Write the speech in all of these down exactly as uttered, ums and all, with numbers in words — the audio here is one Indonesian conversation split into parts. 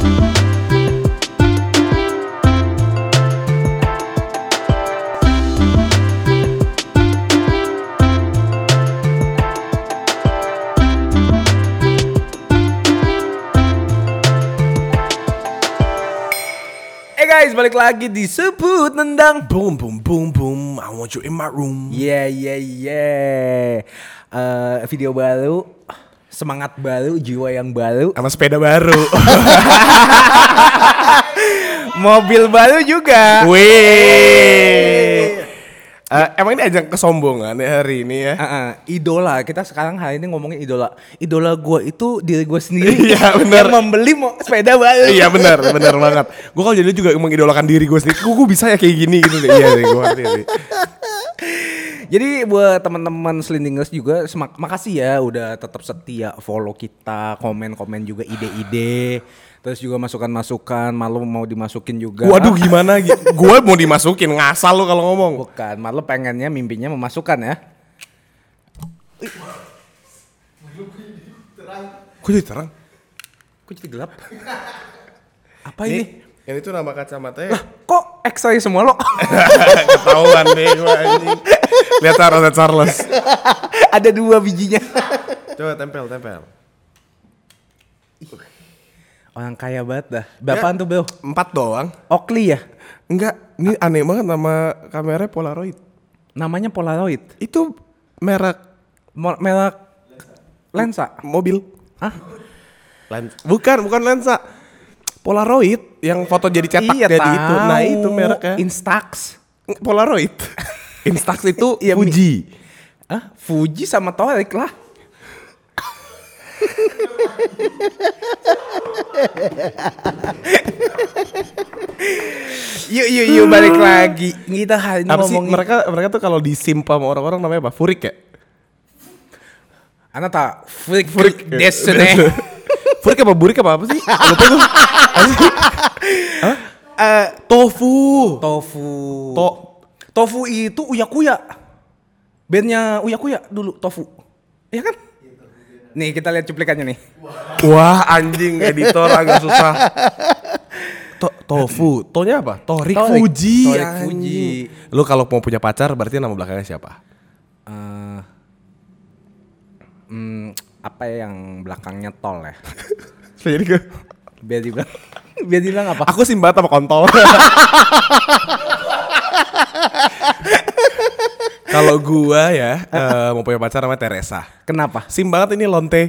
Guys, balik lagi di Sebut Nendang. Boom boom boom boom. I want you in my room. Yeah yeah yeah. Uh, video baru, semangat baru, jiwa yang baru, Sama sepeda baru. mobil baru juga. Wih. Uh, emang ini ajang kesombongan ya hari ini ya? Uh, uh, idola, kita sekarang hari ini ngomongin idola. Idola gue itu diri gue sendiri. Iya benar. Yang membeli mo- sepeda baru. Iya benar, benar banget. Gue kalau jadi juga mengidolakan diri gue sendiri. Gue bisa ya kayak gini gitu. Iya deh, gue ngerti sih. Jadi buat teman-teman Slindingers juga semak- makasih ya udah tetap setia follow kita, komen-komen juga ide-ide, terus juga masukan-masukan, malu mau dimasukin juga. Waduh gimana? Gue mau dimasukin, ngasal lu kalau ngomong. Bukan, malu pengennya mimpinya memasukkan ya. Kok jadi terang? Kok jadi gelap? Apa ini? Yang itu nama kacamatanya. Kok X-ray semua lo? Ketahuan deh gue anjing. Lihat Charles, lihat Charles. Ada dua bijinya. Coba tempel, tempel. Orang kaya banget dah. Berapaan Ya, tuh Bel? Empat doang. Oakley ya? Enggak, ini aneh banget nama kameranya Polaroid. Namanya Polaroid. Itu merek Mo- merek lensa. mobil. Hah? Lensa. Bukan, bukan lensa. Polaroid yang foto jadi cetak Iya, jadi tahu. itu. Nah, itu mereknya. Instax. Polaroid. Instax itu Iya, Fuji. Ah, Fuji sama Torik lah. Yuk yuk yuk balik lagi. Kita hari ini Apa sih ngomongin mereka mereka tuh kalau disimpa sama orang-orang namanya apa? Furik ya? Ana tak freak freak destiny. Furik apa burik apa apa sih? Lupa gue. Apa sih? Hah? Eh, Tofu. tofu. To Tofu itu Uya Kuya. Bandnya Uya Kuya dulu Tofu. Iya kan? Nih kita lihat cuplikannya nih. Wah, anjing editor agak susah. To tofu. Tonya apa? Torik, Torik. Fuji. Torik anjing. Fuji. Lu kalau mau punya pacar berarti nama belakangnya siapa? Eh, hmm, apa ya yang belakangnya tol ya? Jadi gue Biar dibilang, biar dibilang apa? aku simbat sama kontol. Kalau gua ya uh, mau punya pacar namanya Teresa. Kenapa? Sim banget ini lonte.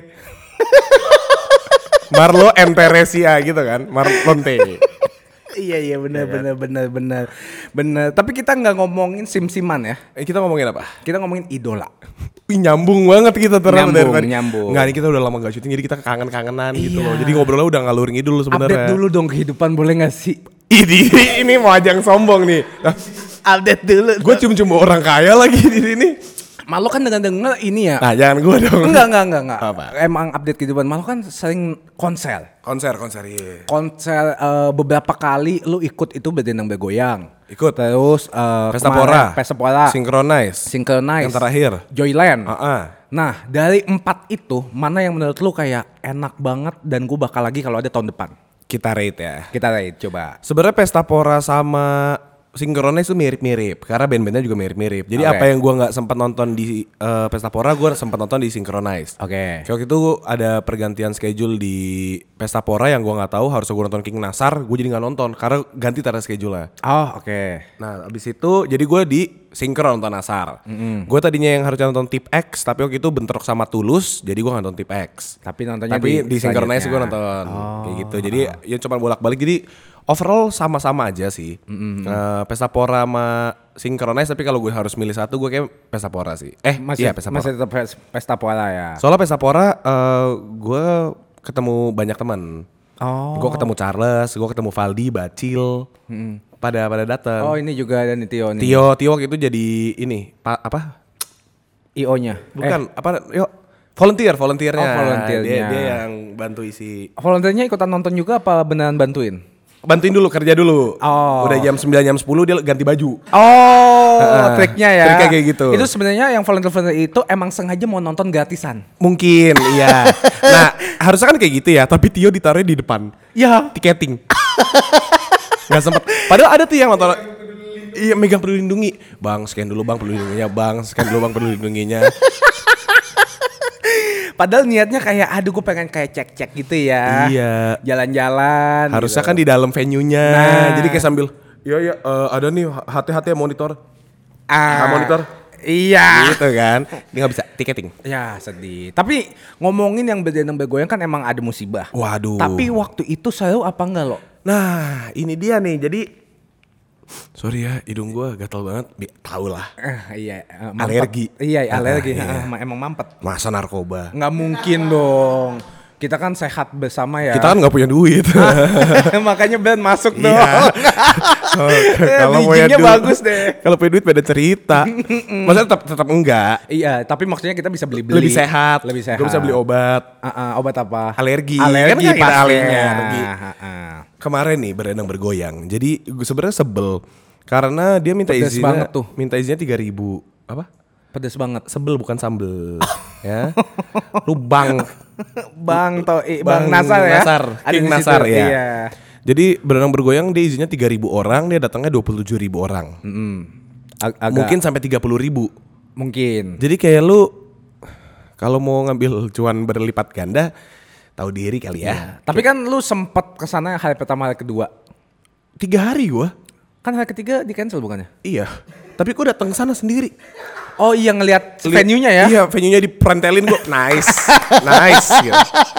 Marlo and Teresia gitu kan. Marlonte. Iya iya benar benar benar benar benar. Tapi kita nggak ngomongin sim-siman ya. Eh, kita ngomongin apa? Kita ngomongin idola. Wih, nyambung banget kita terang Nyambung, dari tadi. nyambung. Nggak, ini kita udah lama gak syuting jadi kita kangen-kangenan gitu Iya. loh. Jadi ngobrolnya udah ngalur ngidul sebenarnya. Update dulu dong kehidupan boleh nggak sih? Ini ini mau ajang sombong nih. Nah, Update dulu. gue cium-cium orang kaya lagi di sini. Malu kan dengar-dengar ini ya. Nah, jangan gue dong. Enggak enggak enggak enggak. Apa? Emang update kehidupan Malu kan sering konser. Konser, konser iya. Konser eh, beberapa kali lu ikut itu berdendang bergoyang. Ikut. Terus eh, Pesta kemarin Pora. Pesta Pora. Synchronize. Synchronize. Yang terakhir. Joyland. Heeh. Nah, dari empat itu mana yang menurut lu kayak enak banget dan gue bakal lagi kalau ada tahun depan? Kita rate ya. Kita rate coba. Sebenarnya Pesta Pora sama Synchronize itu mirip-mirip karena band-bandnya juga mirip-mirip. Jadi Oke. apa yang gua nggak sempat nonton di uh, Pesta Pora, gua sempat nonton di Synchronize. Oke. Kayak waktu itu ada pergantian schedule di Pesta Pora yang gua nggak tahu, harusnya gua nonton King Nasar, gua jadi nggak nonton karena ganti tanda schedule-nya. Oh, oke. Nah, abis itu jadi gua di Synchron nonton Nasar. Mm-hmm. Gua tadinya yang harusnya nonton Tip X, tapi waktu itu bentrok sama Tulus, jadi gua nggak nonton Tip X. Tapi nontonnya Tapi di di Synchronize selanjutnya. gue nonton Oh. kayak gitu. Jadi ya cuma bolak-balik. Jadi overall sama-sama aja sih. Mm-hmm. Uh, Pesta Pora sama Synchronize, tapi kalau gue harus milih satu gue kayak Pesta Pora sih. Eh, Masih iya Pesta Pora. masih tetap pes- Pesta Pora ya. Soalnya Pesta Pora uh, gue ketemu banyak teman. Oh. Gue ketemu Charles, gue ketemu Valdi, Bacil. Mm-hmm. Pada pada datang. Oh, ini juga ada nih Tio nih. Tio, Tio waktu itu jadi ini, pa, apa? I O-nya. Bukan, apa? Yuk, volunteer, volunteernya. Oh, volunteernya. Dia, dia yang bantu isi. Eh, volunteernya ikutan nonton juga apa beneran bantuin? bantuin dulu kerja dulu. Oh. Udah jam sembilan jam sepuluh dia ganti baju. Oh, Uh, triknya ya. triknya kayak gitu. Itu sebenarnya yang volunteer-volunteer itu emang sengaja mau nonton gratisan. Mungkin, iya. Nah, harusnya kan kayak gitu ya, tapi Tio ditaruh di depan. Ya. Tiketing. Gak sempet. Padahal ada tuh yang nonton. Iya, megang Peduli Lindungi. Bang, scan dulu bang Peduli Lindunginya. Bang, scan dulu bang Peduli Lindunginya. Padahal niatnya kayak aduh gue pengen kayak cek-cek gitu ya. Iya. Jalan-jalan. Harusnya gitu. kan di dalam venue-nya. Nah. Jadi kayak sambil, iya iya uh, ada nih hati-hati ya monitor. Ah, monitor. Iya. Gitu kan. Dia gak bisa tiketing. Ya sedih. Tapi ngomongin yang berdendang bergoyang kan emang ada musibah. Waduh. Tapi waktu itu selalu apa enggak lo? Nah, ini dia nih. Jadi sorry ya, hidung gua gatal banget. Tahu lah. Eh, iya, eh, mampet. Alergi. Iya, alergi. Ah, iya. Ah, emang mampet. Masa narkoba. Nggak mungkin dong. Kita kan sehat bersama ya. Kita kan nggak punya duit. Makanya Ben masuk Iya. dong. Oh, Eh, kalau punya bijinya duit bagus deh. Kalau punya duit beda cerita. Maksudnya tetap tetap enggak. Iya, tapi maksudnya kita bisa beli-beli. Lebih sehat. Lebih sehat. Gue bisa beli obat. Ah, ah, obat apa? Alergi. Alergi Kan kita pastinya. alergi. Ah, ah. Kemarin nih berenang bergoyang. Jadi gue sebenarnya sebel karena dia minta Pedes izinnya banget tuh. minta izinnya tiga ribu. Apa? Pedes banget. Sebel bukan sambel. Ya. Lu bang Bang Toi, Bang, Nasar ya. Nasar, Ada King di situ, Nasar ya. Iya. Jadi berenang bergoyang dia izinnya tiga ribu orang, dia datangnya dua puluh tujuh ribu orang. Mm-mm. Ag- agak Mungkin sampai tiga puluh ribu. mungkin. Jadi kayak lu kalau mau ngambil cuan berlipat ganda, tahu diri kali ya. Tapi kan lu sempet kesana hari pertama hari kedua. Tiga hari gua. Kan hari ketiga di cancel bukannya? Iya. Tapi gua datang sana sendiri. Oh iya ngelihat Lihat- venue-nya ya? Iya, venue-nya diperentelin gua. Nice. Nice gitu.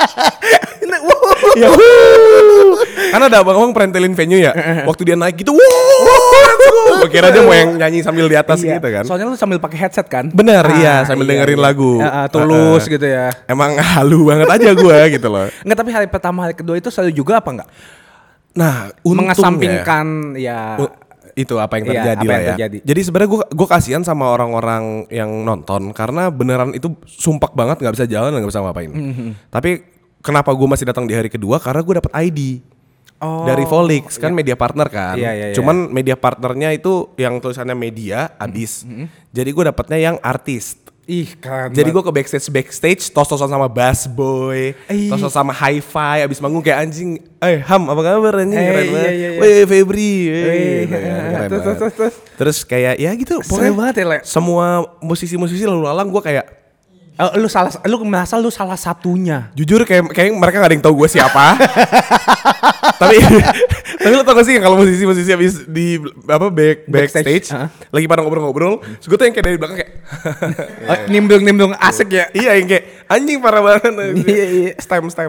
Ya, karena ada abang-abang perentelin venue ya. Waktu dia naik gitu, wow, gua kira dia mau yang nyanyi sambil di atas Iya. gitu kan. Soalnya lu sambil pakai headset kan? Bener, Ah, iya, sambil dengerin lagu. Ah, ah, tulus Ah, ah. gitu ya. Emang halu banget aja gua gitu loh. Enggak, tapi hari pertama hari kedua itu selalu juga apa enggak? Nah, untungnya Mengesampingkan ya. u- itu apa yang Iya, terjadi apa lah yang ya. terjadi. Jadi sebenarnya gua gua kasihan sama orang-orang yang nonton karena beneran itu sumpek banget nggak bisa jalan dan nggak bisa ngapain. Mm-hmm. Tapi kenapa gua masih datang di hari kedua? Karena gua dapat I D. Oh, Dari Volix kan media partner kan. Iya, iya, iya. Cuman media partnernya itu yang tulisannya media abis. Jadi gue dapatnya yang artis. Ih, keren. Jadi banget. gue ke backstage backstage tos-tosan sama Bass Boy, Ih. tos-tosan sama Hi-Fi, abis manggung kayak anjing. Eh Ham apa kabar anjing Eh, keren iya, banget. iya, iya. Weh Febri. Wih, Weh, gitu kan, keren terus, banget. terus, terus, terus. Terus kayak ya gitu. Seru banget ya, Le. Semua musisi-musisi lalu lalang gue kayak Oh, lu salah, lu merasa lu salah satunya. jujur kayak kayak mereka gak ada yang tahu gue siapa. tapi tapi lo tau gak sih kalau musisi-musisi habis di apa back Backstage, backstage, uh-huh. lagi pada ngobrol-ngobrol, terus gue tuh yang kayak dari belakang kayak Oh, nimbrung-nimbrung asik ya. iya yang kayak anjing parah banget. Iya, iya. Stem stem.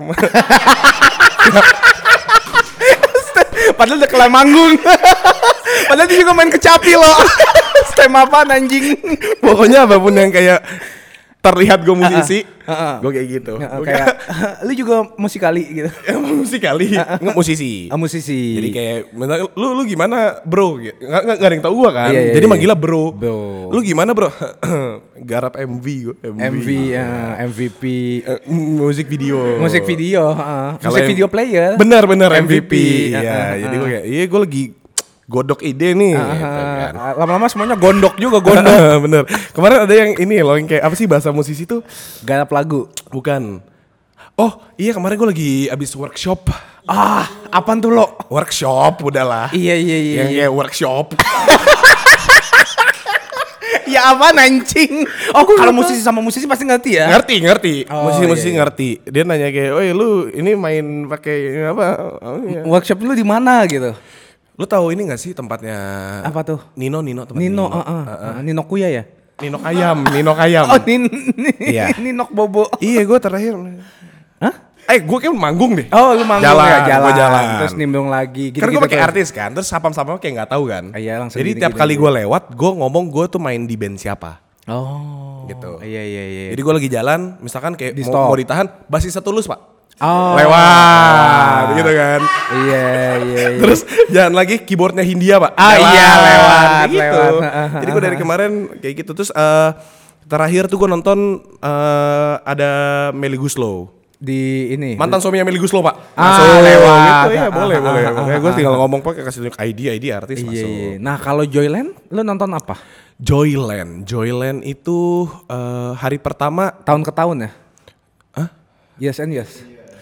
Padahal udah kelar manggung. Padahal dia juga main kecapi loh. Stem apaan anjing? Pokoknya apapun yang kayak terlihat gue musisi, Uh, uh, uh. gue kayak gitu. Ya, Gua kayak lu juga musikali gitu. emang musisi kali, nggak musisi. Ah, musisi. Jadi kayak bener, lu lu gimana bro? Nggak nggak nggak ada yang tahu gua kan. Iya, iya, Jadi iya. manggilnya bro. Bro. Lu gimana bro? Garap M V gua. M V, ya, M V P, Eh, musik video. musik video, uh, Kalau musik M- video player. Bener bener M V P. M V P, Iya, uh, uh, jadi uh. gua kayak iya gua lagi godok ide nih. Ah, gitu kan. lama-lama semuanya gondok juga, gondok. Bener. Kemarin ada yang ini loh yang kayak apa sih bahasa musisi tuh? Garap lagu. Bukan. Oh iya kemarin gua lagi abis workshop. Ah, apaan tuh lo? Workshop udahlah. Iya iya iya. Yang iya. kayak workshop. Ya apa anjing? Oh, kalau musisi sama musisi pasti ngerti ya? Ngerti, ngerti. Oh, Musisi-musisi iya, iya. ngerti. Dia nanya kayak, "Oi, lu ini main pakai apa?" Oh, iya. Workshop lu di mana gitu? Lu tahu ini gak sih tempatnya Apa tuh? Nino, Nino tempat Nino, Nino. uh, uh, Nino Kuya ya? Nino Kayam, Nino Kayam. Oh, Nin, Iya. Ninok Bobo. Iya, gue terakhir. Hah? Eh, gue kayak manggung deh. Oh, lu manggung Jalan, ya, jalan. gua jalan. Terus nimbrung lagi. Kan gue gitu-gitu pakai terus. artis kan, terus sapam-sapam kayak nggak tahu kan. Ah, iya, langsung Jadi gini, tiap gini, kali gini. gue lewat, gue ngomong gue tuh main di band siapa. Oh. Gitu. Iya iya iya. Jadi gue lagi jalan, misalkan kayak Di mau, stop. mau ditahan, basisnya Tulus pak. Oh. Lewat, gitu kan. Iya iya iya. Terus jalan lagi keyboardnya Hindia pak. Ah, iya, lewat, Kayak gitu. lewat. Jadi gue dari kemarin kayak gitu. Terus eh, terakhir tuh gue nonton eh, ada Melly Guslow. Di ini. Mantan suaminya Meli Guslo, Pak. Ah, Masuk. lewat. Gitu ya, Ah, boleh, ah, boleh. ah, Makanya ah, gue ah, tinggal ngomong pakai kasih tunjuk I D, I D artis Iya, masuk. iya. Nah, kalau Joyland lu nonton apa? Joyland, Joyland itu eh, hari pertama Tahun ke tahun ya? Hah? Yes and yes.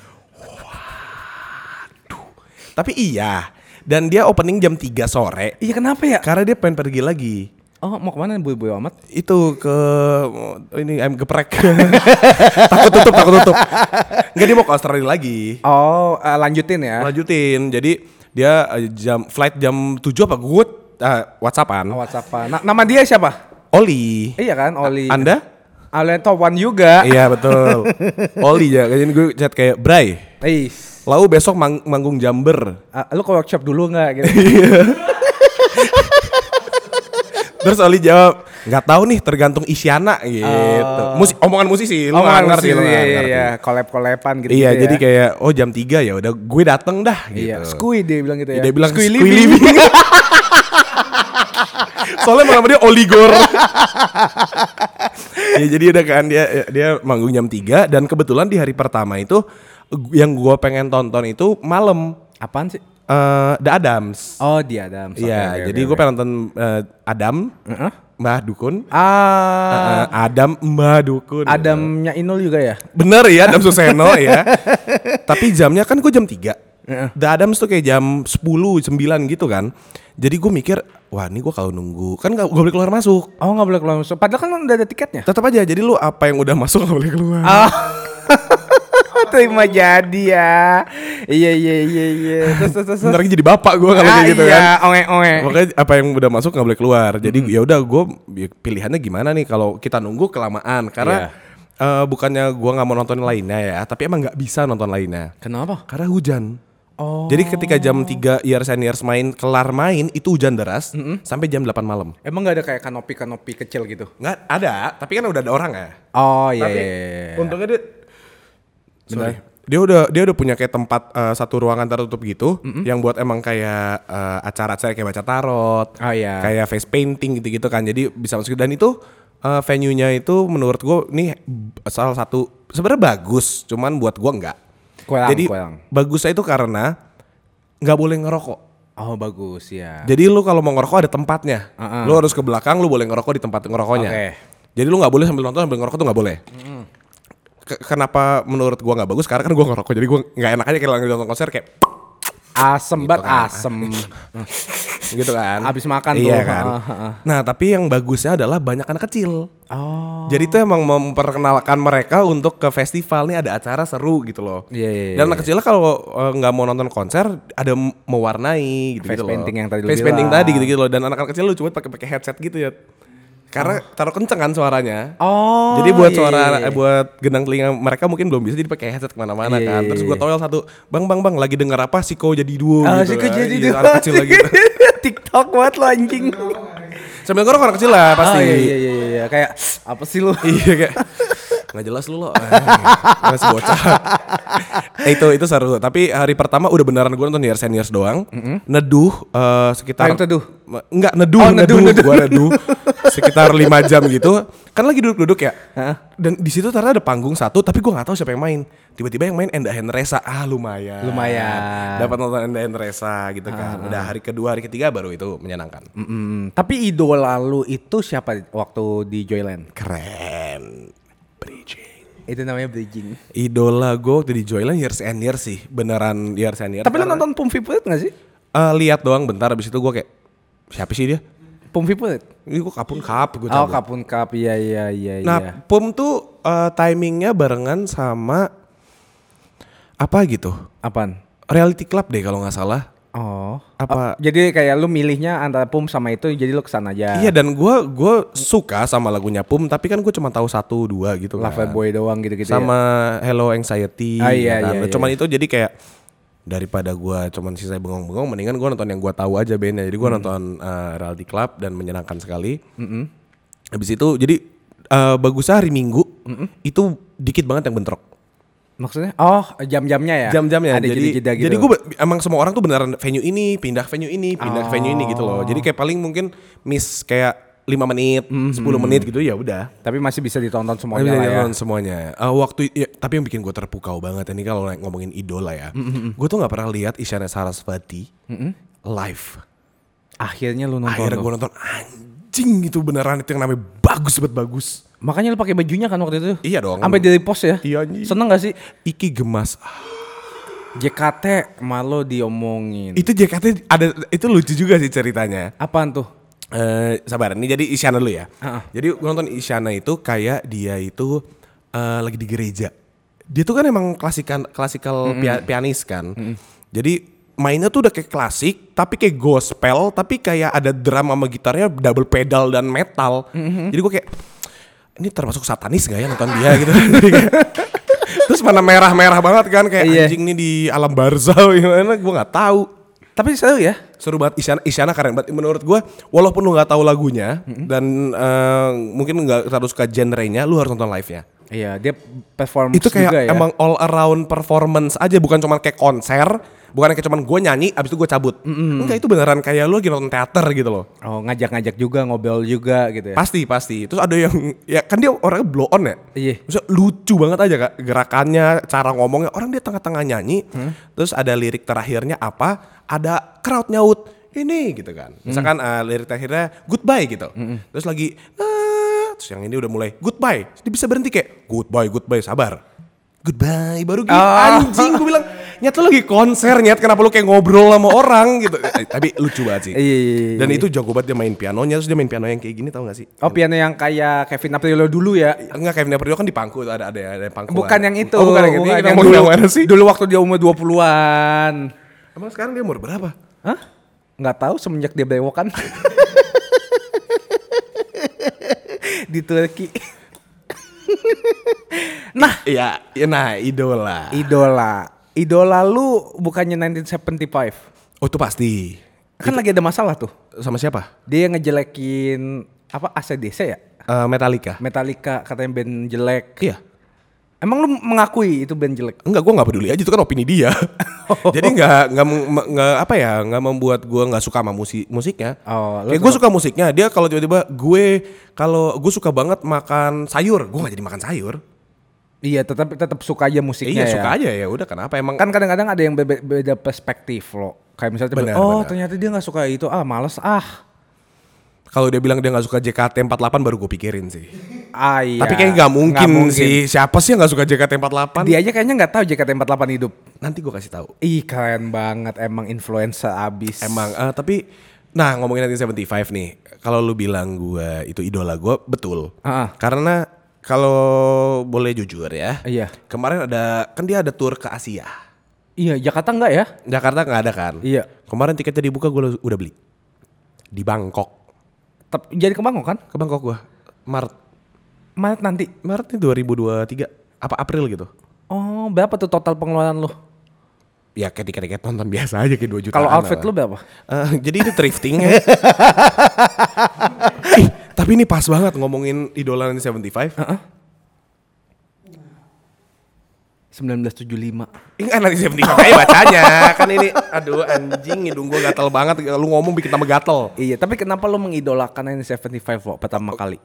tapi iya. Dan dia opening jam tiga sore. Iya, kenapa ya? Karena dia pengen pergi lagi. Oh, mau kemana boy-boy amat? Itu ke ini ayam geprek. takut tutup, takut tutup. Enggak, dia mau ke Australia lagi. Oh, uh, lanjutin ya. Lanjutin. Jadi dia uh, jam flight jam tujuh apa gue uh, WhatsAppan. Oh, WhatsApp. Na- nama dia siapa? Oli. Iya kan, Oli. Anda? Alien top one juga. Iya betul. Oli ya. Jadi gue chat kayak Bray. Is. Lalu besok mang- manggung Jember. Uh, lu ke workshop dulu nggak? Gitu. Terus Oli jawab, nggak tahu nih, tergantung Isyana gitu. Oh. Musik, omongan musisi, lu Oh, nggak ngerti, ngerti, lu nggak iya, iya, ngerti. iya. Collab-collaban gitu. Iya, gitu jadi ya. kayak oh jam tiga ya udah gue dateng dah gitu. Iya, Skui dia bilang gitu ya. Dia bilang Skui Skui living. living. Soalnya malam dia Oligor. Ya jadi udah kan dia dia manggung jam tiga dan kebetulan di hari pertama itu yang gue pengen tonton itu malam. Apaan sih? Eh, The Adams. Oh, dia Adam. Iya, jadi gue pengen nonton eh, Adam, Uh-huh. Mbah Dukun. Ah, Eh, Adam, Mbah Dukun. Adamnya Inul juga ya? Bener ya, Adam Suseno ya. Tapi jamnya kan gue jam tiga. Heeh. The Adams tuh kayak jam sepuluh, sembilan gitu kan. Jadi gue mikir, wah ini gue kalau nunggu, kan gak, gak boleh keluar masuk. Oh, nggak boleh keluar masuk. Padahal kan udah ada tiketnya. Tetap aja, jadi lu apa yang udah masuk gak boleh keluar. Ah. Terima jadi ya. Iya iya iya iya. Terus terus terus. Bentar lagi jadi bapak gue kalau Ah, kayak gitu iya, kan. onge onge. Makanya apa yang udah masuk nggak boleh keluar. Jadi ya udah gue pilihannya gimana nih kalau kita nunggu kelamaan karena eh, bukannya gue nggak mau nonton lainnya ya, tapi emang nggak bisa nonton lainnya Kenapa? karena hujan. Oh. Jadi ketika jam tiga Years and Years main kelar main itu hujan deras sampai jam delapan malam. Emang nggak ada kayak kanopi-kanopi kecil gitu? Nggak ada, tapi kan udah ada orang ya. Oh iya. Tapi iya, iya. untungnya dia Sorry. Dia udah dia udah punya kayak tempat eh, satu ruangan tertutup gitu yang buat emang kayak eh, acara-acara kayak baca tarot, Oh, iya. kayak face painting gitu-gitu kan. Jadi bisa masuk dan itu eh, venue-nya itu menurut gue nih b- salah satu sebenarnya bagus, cuman buat gue enggak. Kuelang, Jadi kuelang. bagusnya itu karena nggak boleh ngerokok. Oh bagus ya. Jadi lu kalau mau ngerokok ada tempatnya. Uh-uh. Lu harus ke belakang, lu boleh ngerokok di tempat ngerokoknya. Oke. Jadi lu nggak boleh sambil nonton sambil ngerokok tuh nggak boleh. Ke- kenapa menurut gua nggak bagus? Karena kan gua ngerokok, jadi gua nggak enak aja kayak lagi nonton konser kayak Asem banget kan. asem. gitu kan. Abis makan iya tuh. kan. Ah, ah, ah. Nah tapi yang bagusnya adalah banyak anak kecil. Oh. Jadi itu emang memperkenalkan mereka untuk ke festival nih ada acara seru gitu loh. Iya, iya, Dan iya. anak kecilnya kalau eh, nggak mau nonton konser ada m- mewarnai gitu, Face loh. painting yang tadi lu Face painting bilang. tadi gitu, gitu loh. Dan anak-anak kecil lu coba pakai pakai headset gitu ya. Karena taruh kenceng kan suaranya. Oh. Jadi buat iya, suara, iya, iya. eh, buat gendang telinga mereka mungkin belum bisa jadi pakai headset kemana-mana Iya, kan. iya, Terus iya. gue toel satu, bang bang bang lagi denger apa Siko jadi duo Oh, gitu. sih kan. jadi Iya, dua. anak kecil lagi. Gitu. TikTok banget lo anjing. Sambil ngorok anak kecil lah pasti. Oh, iya iya iya iya. Kayak apa sih lu? Iya kayak nggak jelas lu lo. Masih bocah. Eh, itu itu seru. Tapi hari pertama udah beneran gue nonton Years and Years doang. Neduh eh, sekitar. Oh, yang teduh? Enggak neduh, Oh, neduh, neduh, neduh. Gue neduh sekitar lima jam gitu. Kan lagi duduk-duduk ya. Hah? Dan di situ ternyata ada panggung satu, tapi gue nggak tahu siapa yang main. Tiba-tiba yang main Enda Henresa. Ah lumayan. Lumayan. Dapat nonton Enda Henresa gitu kan. Udah hari kedua, hari ketiga baru itu menyenangkan. Mm-mm. Tapi idola lu itu siapa waktu di Joyland? Keren. Bridging. Itu namanya bridging. Idola gue waktu di Joyland Years and Years sih. Beneran Years and Years. Tapi lu nonton Pum Vipulet gak sih? Eh, lihat doang bentar, abis itu gue kayak siapa sih dia? Pum Vipulet? Ini gue kapun kap gue Oh Kapun Cup, iya iya iya Nah iya. Pum tuh eh, timingnya barengan sama apa gitu? Apaan? Reality Club deh kalau nggak salah. Oh. Apa? Oh, jadi kayak lu milihnya antara Pum sama itu, jadi lu kesana aja. Iya dan gue gue suka sama lagunya Pum, tapi kan gue cuma tahu satu dua gitu kan. Love Boy doang gitu-gitu Sama ya. Hello Anxiety. Ah, iya, ya kan. iya, iya. Cuman itu jadi kayak daripada gue cuman sisa bengong-bengong, mendingan gue nonton yang gue tahu aja bandnya. Jadi gue Hmm. nonton uh, Reality Club dan menyenangkan sekali. Habis itu jadi uh, bagusnya hari Minggu itu dikit banget yang bentrok. Maksudnya? Oh, jam-jamnya ya? Jam-jamnya. Ada jadi jeda-jeda gitu. jadi gue emang semua orang tuh beneran venue ini pindah venue ini pindah Oh. venue ini gitu loh. Jadi kayak paling mungkin miss kayak lima menit, Mm-hmm. sepuluh menit gitu ya udah. Tapi masih bisa ditonton semuanya Bisa lah ya. ditonton semuanya. Uh, waktu ya, tapi yang bikin gue terpukau banget ini kalau ngomongin idola ya. Mm-hmm. Gue tuh nggak pernah lihat Isyana Sarasvati mm-hmm. live. Akhirnya lu nonton. Akhirnya gue nonton, anjing itu beneran itu yang namanya bagus banget bagus. Makanya lu pakai bajunya kan waktu itu? Iya dong. Sampai di repost ya? Iya anjing. Seneng gak sih? Iki gemas. J K T malu diomongin. Itu J K T ada, itu lucu juga sih ceritanya. Apaan tuh? Uh, sabar, ini jadi Isyana dulu ya. Uh-uh. Jadi gue nonton Isyana itu kayak dia itu uh, lagi di gereja. Dia tuh kan emang klasikan klasikal mm-hmm. pia, pianis kan. Mm-hmm. Jadi mainnya tuh udah kayak klasik, tapi kayak gospel, tapi kayak ada drum sama gitarnya double pedal dan metal. Mm-hmm. Jadi gue kayak, ini termasuk satanis gak ya nonton dia gitu. Terus mana merah-merah banget kan kayak iya. Anjing nih di alam barzah gimana gue nggak tahu. Tapi seru ya, seru banget. Isyana, Isyana keren banget menurut gue. Walaupun lu nggak tahu lagunya mm-hmm. dan uh, mungkin nggak terlalu suka genre-nya, lu harus nonton live-nya. Iya, dia performance itu kayak juga ya. Emang all around performance aja, bukan cuma kayak konser, bukan kayak cuma gue nyanyi abis itu gue cabut. Mm-hmm. Enggak, itu beneran kayak lu lagi nonton teater gitu loh. Oh, ngajak-ngajak juga, ngobrol juga gitu ya. Pasti, pasti. Terus ada yang ya kan dia orangnya blow on ya. Iya. Maksudnya lucu banget aja Kak gerakannya, cara ngomongnya. Orang dia tengah-tengah nyanyi, hmm? Terus ada lirik terakhirnya apa? Ada crowd nyaut ini gitu kan. Misalkan hmm. uh, lirik terakhirnya goodbye gitu. Hmm. Terus lagi nah, terus yang ini udah mulai goodbye. Dia bisa berhenti kayak goodbye, goodbye, sabar. Goodbye, baru gitu. Oh. Anjing, gue bilang, nyat lu lagi konser, nyat kenapa lu kayak ngobrol sama orang gitu. Eh, tapi lucu banget sih. Iya, iya, Dan itu jago banget dia main pianonya, terus dia main piano yang kayak gini, tau gak sih? Oh, piano yang kayak Kevin Aprilio dulu ya? Enggak, Kevin Aprilio kan di pangku, ada ada ada pangku. Bukan yang itu. Oh, bukan yang itu. Yang dulu, yang sih? Dulu waktu dia umur dua puluhan. Emang sekarang dia umur berapa? Hah? Nggak tahu, semenjak dia bewokan. Di Turki. Nah, iya, ya, nah idola. Idola. Idola lu bukannya nineteen seventy-five? Oh, itu pasti. Kan itu lagi ada masalah tuh. Sama siapa? Dia ngejelekin apa A C D C ya? Uh, Metallica. Metallica katanya band jelek. Iya. Emang lu mengakui itu band jelek? Enggak, gue nggak peduli aja, itu kan opini dia. Jadi nggak nggak nggak apa ya, nggak membuat gue nggak suka sama musik musiknya. Oh, kayak gue suka musiknya. Dia kalau tiba-tiba gue kalau gue suka banget makan sayur, gue nggak jadi makan sayur. Iya, tetap tetap suka aja musiknya. Iya, ya. suka aja ya. Udah kenapa emang? Kan kadang-kadang ada yang beda, beda perspektif loh. Kayak misalnya, benar, oh benar. Ternyata dia nggak suka itu, ah males ah. Kalau dia bilang dia nggak suka J K T empat puluh delapan baru gue pikirin sih. Ah iya. Tapi kayaknya nggak mungkin, mungkin sih. Siapa sih yang nggak suka J K T empat puluh delapan? Dia aja kayaknya nggak tahu J K T empat puluh delapan hidup. Nanti gue kasih tahu. Ih keren banget, emang influencer abis. Emang, uh, tapi, nah ngomongin nineteen seventy-five nih, kalau lu bilang gue itu idola gue, betul. Uh-uh. Karena kalau boleh jujur ya, iya. Kemarin ada, kan dia ada tour ke Asia. Iya, Jakarta nggak ya? Jakarta nggak ada kan? Iya. Kemarin tiketnya dibuka gue udah beli di Bangkok. Jadi ke Bangkok kan? Ke Bangkok gua Maret. Maret nanti? Maret nih dua ribu dua puluh tiga. Apa April gitu. Oh, berapa tuh total pengeluaran lu? Ya kayak tiket-tiket nonton biasa aja kayak dua jutaan. Kalau outfit lu berapa? Uh, jadi itu thrifting ya. eh, tapi ini pas banget ngomongin idola nineteen seventy-five. Uh-uh. sembilan belas tujuh puluh lima. Ini kan nineteen seventy-five aja bacanya. Kan ini aduh anjing hidung gua gatel banget. Lu ngomong bikin tambah gatel. Iya, tapi kenapa lu mengidolakan nineteen seventy-five lo pertama oh. kali?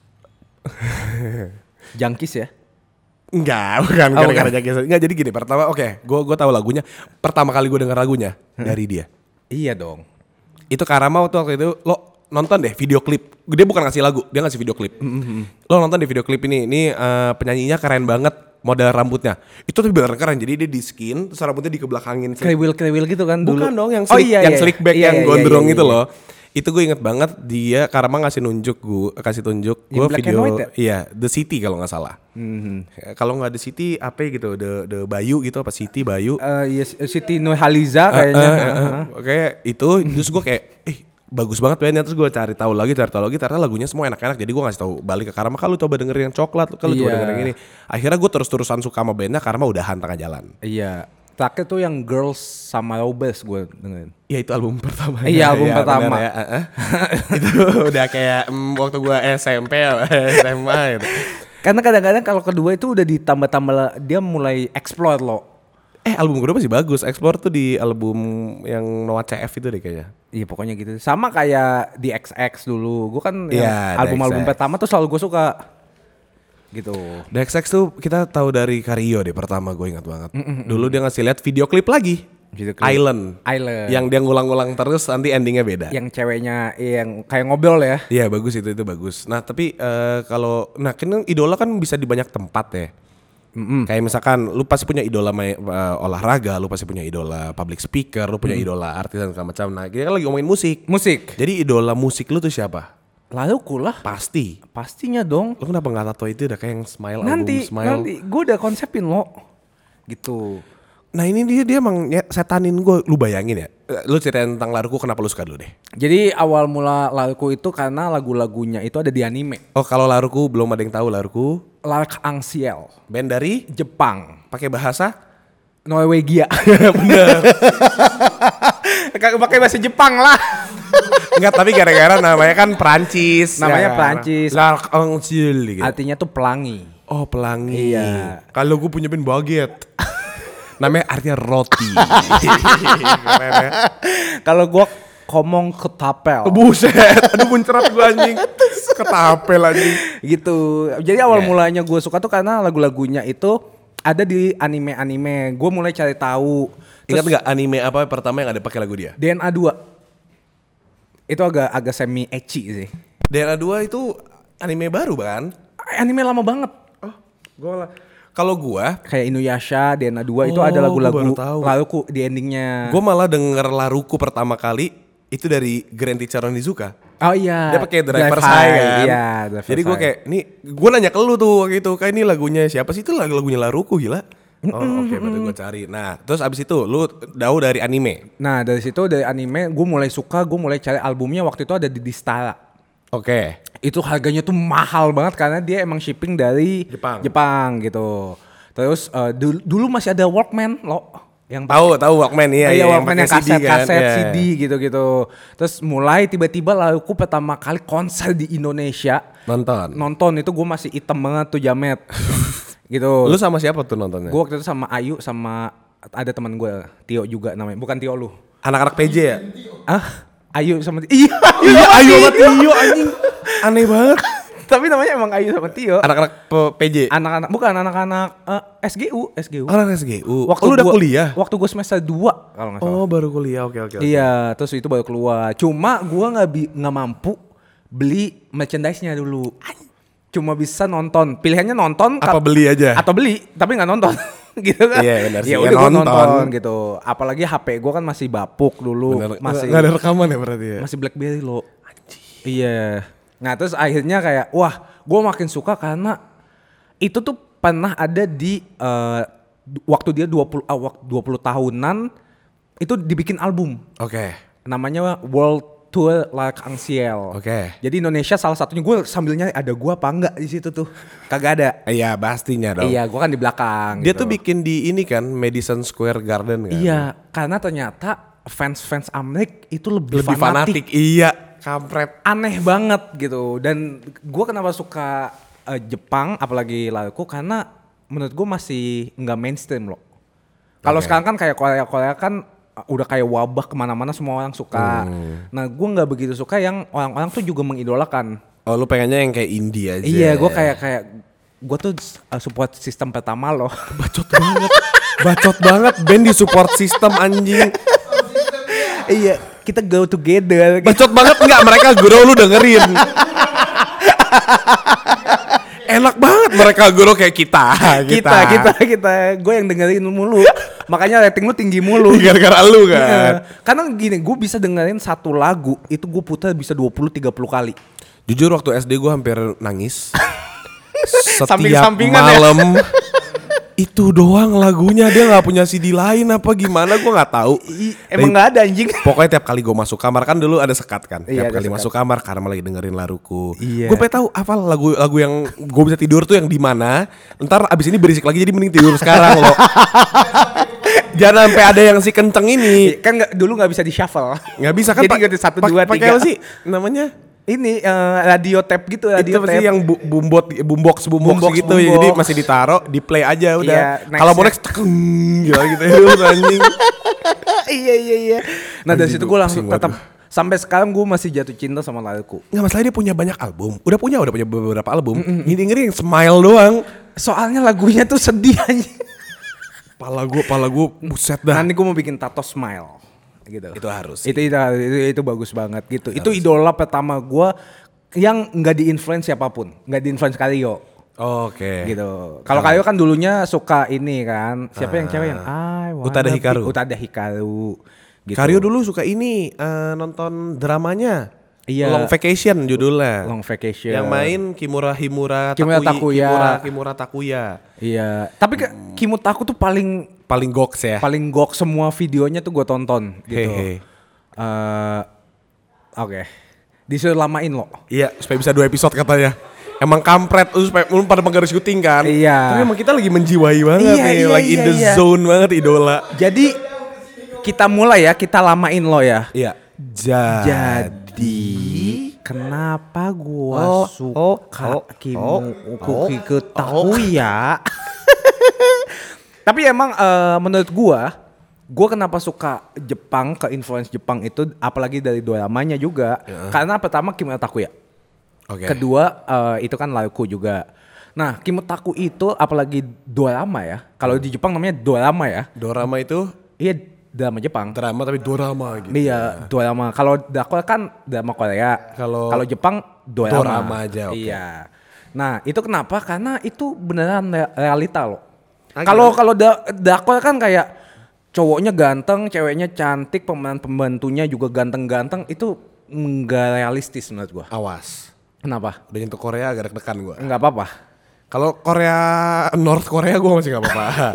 Jangkis ya? Enggak, bukan oh, gara-gara Jangkis. Enggak, jadi gini, pertama oke, okay, gua gua tahu lagunya. Pertama kali gua denger lagunya hmm. dari dia. Iya dong. Itu Karama waktu itu lo nonton deh video klip. Dia bukan ngasih lagu, dia ngasih video klip. Mm-hmm. Lo nonton deh video klip ini. Ini uh, penyanyinya keren banget. Model rambutnya itu tuh bener keren, jadi dia di skin terus rambutnya dikebelakangin kriwil kriwil gitu kan dulu. Bukan dong yang slick, oh, iya, yang iya. slick back iya, yang iya, gondrong iya, iya, itu loh. Itu gue inget banget dia Karama ngasih nunjuk gue kasih tunjuk gue video ya? Iya The City kalau nggak salah. Mm-hmm. Kalau nggak The City apa gitu The The Bayu gitu apa City Bayu uh, iya City Nurhaliza kayaknya uh, uh, uh, uh. Oke okay, itu terus gue kayak eh bagus banget bandnya, terus gue cari tahu lagi cari tahu lagi ternyata lagunya semua enak-enak, jadi gue ngasih tahu balik ke Karma, kalau coba dengerin yang coklat, kalau yeah. coba dengerin yang ini. Akhirnya gue terus-terusan suka sama bandnya Karma udahan tengah jalan. Iya. Terakhir tuh yang Girls sama Robes gue dengerin. Iya itu album pertama. Iya album ya, pertama. Ya. Uh-uh. Itu udah kayak mm, waktu gue S M P S M A gitu. Karena kadang-kadang kalau kedua itu udah ditambah-tambah dia mulai explore loh. Eh album kedua masih bagus. Explore tuh di album yang Noah C F itu deh kayaknya. Iya pokoknya gitu. Sama kayak di X X dulu. Gue kan Iya, album-album The X X. pertama tuh selalu gue suka. Gitu. The X X tuh kita tahu dari Kario deh pertama gue ingat banget. Dulu dia ngasih lihat video klip lagi. Video klip. Island. Island. Yang dia ngulang-ngulang terus nanti endingnya beda. Yang ceweknya yang kayak ngobrol ya. Iya bagus itu itu bagus. Nah tapi eh, kalau nah kan idola kan bisa di banyak tempat ya. Mm-mm. Kayak misalkan lu pasti punya idola may, uh, olahraga, lu pasti punya idola public speaker, lu punya Mm. idola artis dan segala macam. Nah kita kan lagi ngomongin musik. Musik. Jadi idola musik lu tuh siapa? Lalu kulah. Pasti. Pastinya dong. Lu kenapa nggak tato itu udah kayak yang smile Nanti, album smile. nanti gue udah konsepin lo. Gitu. Nah ini dia dia emang ya, setanin gue. Lu bayangin ya. Eh, Lu ceritain tentang Laruku kenapa lu suka dulu deh. Jadi awal mula Laruku itu karena lagu-lagunya itu ada di anime. Oh kalau Laruku belum ada yang tahu Laruku. Lark Angsiel. Band dari Jepang. pakai bahasa. Norwegia. Bener. Pakai bahasa Jepang lah. Enggak tapi gara-gara namanya kan Prancis. Namanya ya. Prancis. L'Arc-en-Ciel gitu. Artinya tuh pelangi. Oh pelangi. Iya. Kalau gue punya band baguette. Namanya artinya roti. Keren ya. Kalau gua ngomong ketapel. Buset. Aduh muncrat gue anjing. Ketapel anjing. Gitu. Jadi awal Yeah. mulanya gue suka tuh karena lagu-lagunya itu ada di anime-anime. Gue mulai cari tahu. Ingat Terus nggak anime apa pertama yang ada pakai lagu dia? D N A dua. Itu agak agak semi ecchi sih. D N A dua itu anime baru kan? Anime lama banget. Oh, gua lah. Kalau gua, Kayak Inuyasha, D N A dua itu Oh, ada gua lagu-lagu baru tahu. Laruku di endingnya. gua malah denger Laruku pertama kali itu dari Grand Teacher Onizuka. Oh iya. Dia pakai Driver's Drive High High, kan. Iya, Driver's Jadi gua High. kayak, nih gua nanya ke lu tuh waktu itu, kayak ini lagunya siapa sih? Itu lagu-lagunya Laruku gila. Oh oke berarti gua cari. Nah terus abis itu lu tahu dari anime. Nah dari situ dari anime gue mulai suka, gue mulai cari albumnya waktu itu ada di Distara. Oke. Itu harganya tuh mahal banget karena dia emang shipping dari Jepang. Jepang gitu. Terus eh, dulu, dulu masih ada Walkman lo yang Tahu tahu Walkman iya iya, iya. Walkman yang pakai kaset, C D kan. kaset Iya. C D gitu-gitu. Terus mulai tiba-tiba lalu aku pertama kali konser di Indonesia Nonton. nonton itu gue masih item banget tuh jamet gitu. Lu sama siapa tuh nontonnya? Gue waktu itu sama Ayu sama ada teman gue Tio juga namanya, bukan Tio lu. Anak-anak P J ya? Ah, Ayu sama Tio. Iya, Iya sama Ayu sama Tio. Tio anjing. Aneh banget. Tapi namanya emang Ayu sama Tio. Anak-anak P- PJ. Anak-anak bukan anak-anak eh, S G U, S G U. Anak S G U. Waktu Oh, lu udah gua- kuliah? Waktu gue semester dua kalau nggak salah. Oh baru kuliah oke oke. oke. Iya, terus itu baru keluar. Cuma gua nggak bi- nggak mampu beli merchandise-nya dulu. Cuma bisa nonton. Pilihannya nonton Apa kat- beli aja? atau beli, tapi nggak nonton. Gitu kan? Iya, benar sih. Ya Ya, udah gua nonton. nonton gitu. Apalagi H P gua kan masih bapuk dulu, Bener. masih Nggak ada rekaman ya berarti ya? masih BlackBerry lo. Iya. Nah, terus akhirnya kayak wah, gua makin suka karena itu tuh pernah ada di eh, waktu dia dua puluh ah, wak- dua puluh tahunan itu dibikin album. Oke. Namanya World Tour L'Arc-en-Ciel. Oke. Jadi Indonesia salah satunya gue sambilnya ada gua apa enggak di situ tuh. Kagak ada. Iya pastinya dong. Iya, gua kan di belakang Dia gitu. tuh bikin di ini kan Madison Square Garden kan. Iya, karena ternyata fans-fans Amerik itu lebih, Lebih fanatik. Iya. Kampret. Aneh banget gitu. Dan gua kenapa suka eh, Jepang apalagi Laruku karena menurut gua masih nggak mainstream loh. Kalau Oke. sekarang kan kayak Korea-Korea kan uh, udah kayak wabah kemana-mana semua orang suka. Hmm. Nah gua nggak begitu suka yang orang-orang tuh juga mengidolakan. Oh lu pengennya yang kayak indie aja. Iya, gua kayak kayak gua tuh uh, support sistem pertama loh. Bacot banget. Bacot banget band di support system anjing. Iya, kita go together. Bacot banget enggak mereka guru lu dengerin. Enak banget mereka guru kayak kita. kita, kita, kita. Gue yang dengerin mulu. Makanya rating lu tinggi mulu. Gara-gara lu kan. Iya. Karena gini, gue bisa dengerin satu lagu itu gue putar bisa dua puluh tiga puluh kali. Jujur waktu S D gue hampir nangis. Setiap Samping-sampingan ya. malam itu doang lagunya, dia nggak punya C D lain apa gimana gue nggak tau. I, emang nggak ada anjing. Pokoknya tiap kali gue masuk kamar kan dulu ada sekat kan. Iya, Tiap ada kali sekat. masuk kamar karena lagi dengerin Laruku. Iya. Gue pengen tahu apa lagu-lagu yang gue bisa tidur tuh yang di mana. Ntar abis ini berisik lagi jadi mending tidur sekarang loh. Jangan sampai ada yang si kenceng ini. Kan nggak dulu nggak bisa di shuffle. Nggak bisa kan? Jadi pak- ganti satu, pak- dua, pakai tiga. apa sih namanya? ini uh, radio tape gitu, radio itu pasti tape yang bu- bumbot boombox boombox Boombox, gitu ya. boombox. Jadi masih ditaro, di play aja udah. Iya, Kalau mau next-nya. next tekeng gitu gitu ya anjing. iya iya iya. Nah dari Anjing, situ gua gue langsung pusing tetap banget. sampai sekarang gue masih jatuh cinta sama laguku. Nggak masalah dia punya banyak album. Udah punya, udah punya beberapa album. Ini dengerin yang Smile doang. Soalnya lagunya tuh sedih aja. Pala gue, pala gue buset dah. Nanti gue mau bikin tato smile gitu. Itu harus. Itu itu, itu, itu bagus banget gitu. Itu idola pertama gue yang nggak diinfluence siapapun, nggak diinfluence Karyo. Oke. Gitu. Kalau Karyo kan dulunya suka ini kan. Siapa yang cewek yang I wanna Utada be- Hikaru. Utada Hikaru. Gitu. Karyo dulu suka ini eh, nonton dramanya. Iya. Long Vacation judulnya. Long Vacation. Yang main Kimura Himura Kimura Takuya. Takuya. Kimura, Kimura Takuya. Iya. Tapi ke Kimutaku tuh paling Paling goks ya. paling gok semua videonya tuh gue tonton gitu. Hehe. Eh, Oke. Disuruh lamain lo. Iya, supaya bisa dua episode katanya. Emang kampret, lu supaya lu pada menggaris syuting kan. Iya. Tapi emang kita lagi menjiwai banget Iya, nih, iya, lagi in iya, the iya. zone banget idola. Jadi kita mulai ya, kita lamain lo ya. Iya. Jadi kenapa gua Oh, suka oh, Kimu oh, Kuki oh, ke Takuya? Tapi emang eh, menurut gua, gua kenapa suka Jepang, ke influence Jepang itu apalagi dari dramanya juga. Karena pertama Kimu Takuya. Oke. Kedua eh, itu kan lagu juga. Nah, Kimutaku itu apalagi drama ya. Kalau di Jepang namanya drama ya. Dorama itu Iya, drama Jepang. drama tapi dorama gitu. Iya, drama. Kalau Dakwa kan drama Korea. Kalau- kalau Jepang drama. Dorama aja, oke. Iya. Nah, itu kenapa? Karena itu beneran re- realita loh. Ah, Kalau gimana? kalau da- Dakwa kan kayak cowoknya ganteng, ceweknya cantik, pemeran pembantunya juga ganteng-ganteng, itu enggak realistis menurut gua. Awas. Kenapa? Udah nyentuh Korea agak deg-degan gua. Enggak apa-apa. Kalau Korea North Korea gua masih nggak apa-apa.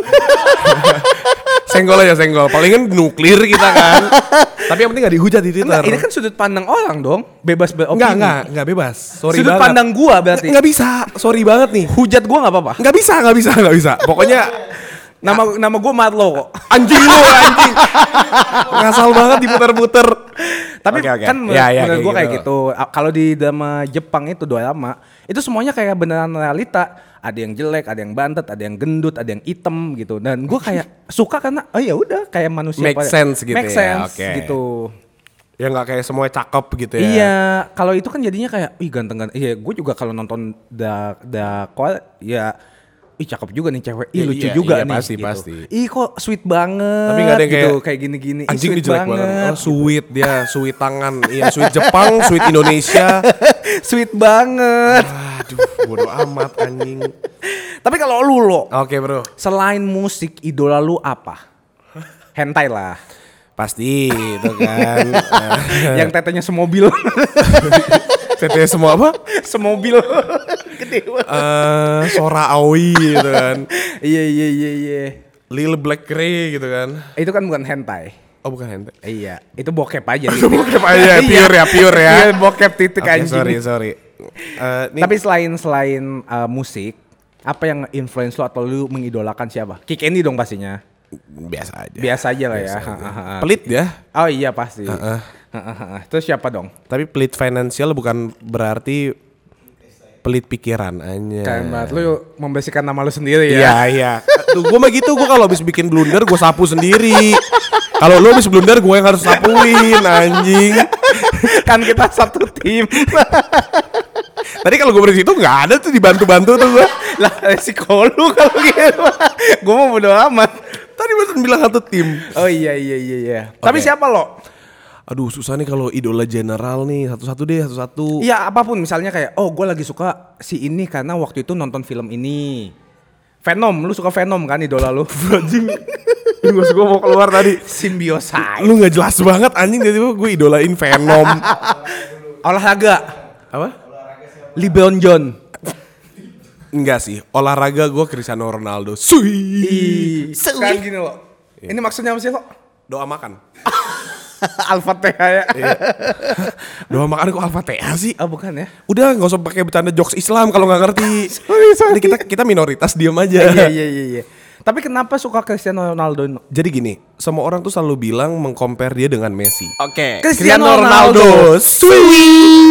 Senggol aja senggol. Palingan nuklir kita kan. Tapi yang penting nggak dihujat di Twitter. Enggak, ini kan sudut pandang orang dong, bebas beropini. Enggak, enggak, enggak bebas. Sorry Sudut banget. pandang gua berarti. Nggak bisa. Sorry banget nih. Hujat gua nggak apa-apa. Nggak bisa, nggak bisa, nggak bisa. Pokoknya Nama nama gua Marlo kok. anjing lu anjing. Ngasal banget diputer-puter. Tapi Oke, oke. kan menurut, Ya, ya, menurut kayak gue kayak gitu. gitu. A- Kalau di drama Jepang itu drama, itu semuanya kayak beneran realita. Ada yang jelek, ada yang bantet, ada yang gendut, ada yang hitam gitu. Dan gue kayak suka karena oh ya udah kayak manusia Make pada- sense gitu Make ya, sense oke. gitu. Ya nggak kayak semuanya cakep gitu ya. Iya, kalau itu kan jadinya kayak ih ganteng-ganteng. Iya, gue juga kalau nonton da da Koal ya ih cakep juga nih cewek. Ih Iya, lucu iya, juga iya, nih pasti, gitu. pasti. Ih kok sweet banget. Tapi nggak ada yang gitu, kayak, kayak gini-gini. Ih, Anjing sweet ini jelek banget. Oh, sweet dia, sweet tangan. Iya, sweet Jepang, sweet Indonesia. Sweet banget. Aduh, bodo amat anjing. Tapi kalau lu lo, Oke, Bro. selain musik, idola lu apa? Hentai lah. Pasti itu kan. Yang tetenya semobil. T T semua apa? Semobil. Gede banget. Eh, Sora Aoi gitu kan. Iya iya iya iya. Lil Black Ray gitu kan. Itu kan bukan hentai. Oh, bukan hentai. Iya, itu bokep aja. Itu bokep aja, pure ya, pure ya. Iya, bokep titik Oke, anjing. sorry, sorry. Eh, nih, Tapi selain selain uh, musik, apa yang influence lu atau lu mengidolakan siapa? Kick Andy dong pastinya. biasa aja. Biasa aja lah ya. Biasa aja. Ha, ha, ha. Pelit ya. Oh iya pasti. Heeh. Ha, ha, ha. Terus siapa dong? Tapi pelit finansial bukan berarti pelit pikiran aja. Keren banget lu membersihkan nama lu sendiri ya. Iya, iya. Tuh gue mah gitu, gue kalau habis bikin blunder gue sapu sendiri. Kalau lu habis blunder gue yang harus sapuin anjing. Kan kita satu tim. Tadi kalau gue bersihin itu nggak ada tuh dibantu-bantu tuh gue. Lah resiko lu kalau gitu. Gue mau bodo amat. Tadi barusan bilang satu tim. Oh iya iya iya iya. Tapi Oke. siapa lo? Aduh susah nih kalau idola general nih, satu-satu deh, satu-satu. Iya apapun misalnya kayak oh gue lagi suka si ini karena waktu itu nonton film ini. Venom, lu suka Venom kan idola lu? Anjing. Gue gue mau keluar tadi. Symbiosis. Lu nggak jelas banget anjing, jadi gue idolain Venom. Olahraga. Apa? LeBron John. Enggak sih, olahraga gue Cristiano Ronaldo. Sui. Sekarang gini lo. Ini maksudnya apa sih lo? Doa makan. Al-Fatihah ya. Doa makan kok Al-Fatihah sih? Oh bukan ya? Udah nggak usah pakai bercanda jokes Islam kalau nggak ngerti. Sorry, sorry. Ini kita kita minoritas diam aja. Iya iya iya iya. Tapi kenapa suka Cristiano Ronaldo? Jadi gini, semua orang tuh selalu bilang mengcompare dia dengan Messi. Oke. Cristiano Ronaldo. Sui.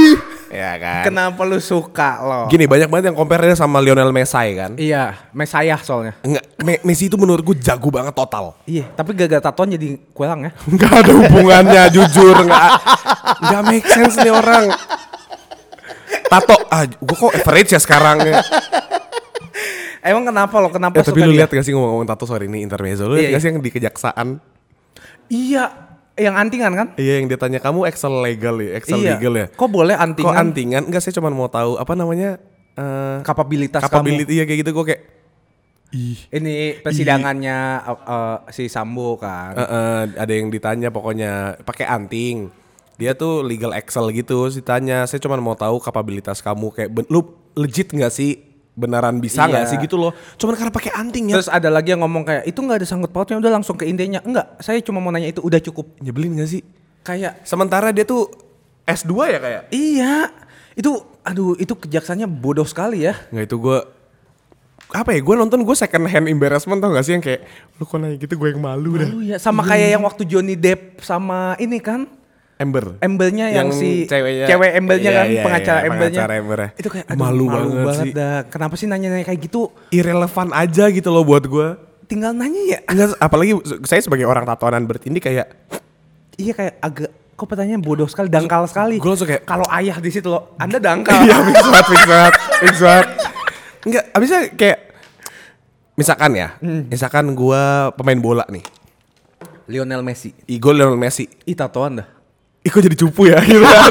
Ya kan. Kenapa lu suka lo? Gini, banyak banget yang compare dia sama Lionel Messi kan. Iya, Mesayah soalnya. Enggak, Me- Messi itu menurut gue jago banget total. Iya, tapi gara-gara tatoan jadi kurang ya. Enggak ada hubungannya jujur, enggak enggak make sense nih orang. Tato, ah gue kok average ya sekarang ya. Emang kenapa lo? Kenapa Eh, suka tapi lu dia? lihat gak sih ngomong-ngomong tato, sorry ini intermezzo. Lu Iya, lihat gak iya. sih yang di kejaksaan? Iya, yang antingan kan? Iya, yang dia tanya kamu Excel legal ya, Excel Iya. legal ya. Kok boleh Kok antingan? antingan? Enggak, saya cuma mau tahu apa namanya eh Kapabilitas capability ya kayak gitu. Gue kayak ih. kamu. Ini persidangannya uh, uh, si Sambo kan. Eh, eh, ada yang ditanya pokoknya pakai anting. Dia tuh legal Excel gitu, sih tanya, saya cuma mau tahu kapabilitas kamu kayak ben- lu legit nggak sih? Beneran bisa nggak Iya. sih gitu loh? Cuman karena pakai anting ya. Terus ada lagi yang ngomong kayak itu nggak ada sangkut pautnya, udah langsung ke intinya. Enggak, saya cuma mau nanya itu udah cukup. Nyebelin gak sih? Kayak Sementara dia tuh S dua ya kayak. iya, itu aduh itu kejaksannya bodoh sekali ya. Nggak, itu gue apa ya? Gue nonton gue second hand embarrassment, tau gak sih yang kayak lu kok nanya gitu, gue yang malu dah. Malu ya, sama kayak yang waktu Johnny Depp sama ini kan. Ember. Embelnya yang, Yang si ceweknya- cewek embelnya iya, kan, iya, pengacara iya, embelnya. pengacara embernya. Itu kayak aduh, Malu malu, banget banget, sih. dah. Kenapa sih nanya-nanya kayak gitu? Irrelevant aja gitu loh buat gue. Tinggal nanya ya. Enggak, apalagi saya sebagai orang tatoanan bertindi kayak Iya kayak agak kok pertanyaan bodoh sekali, dangkal sekali. gue langsung kayak Kalau ayah di situ loh, Anda dangkal. iya, fix banget, fix banget, fix banget. Enggak, abisnya kayak misalkan ya, misalkan gue pemain bola nih, Lionel Messi. Igor Lionel Messi, Ih tatoan dah. ih kok jadi cupu ya gitu kan.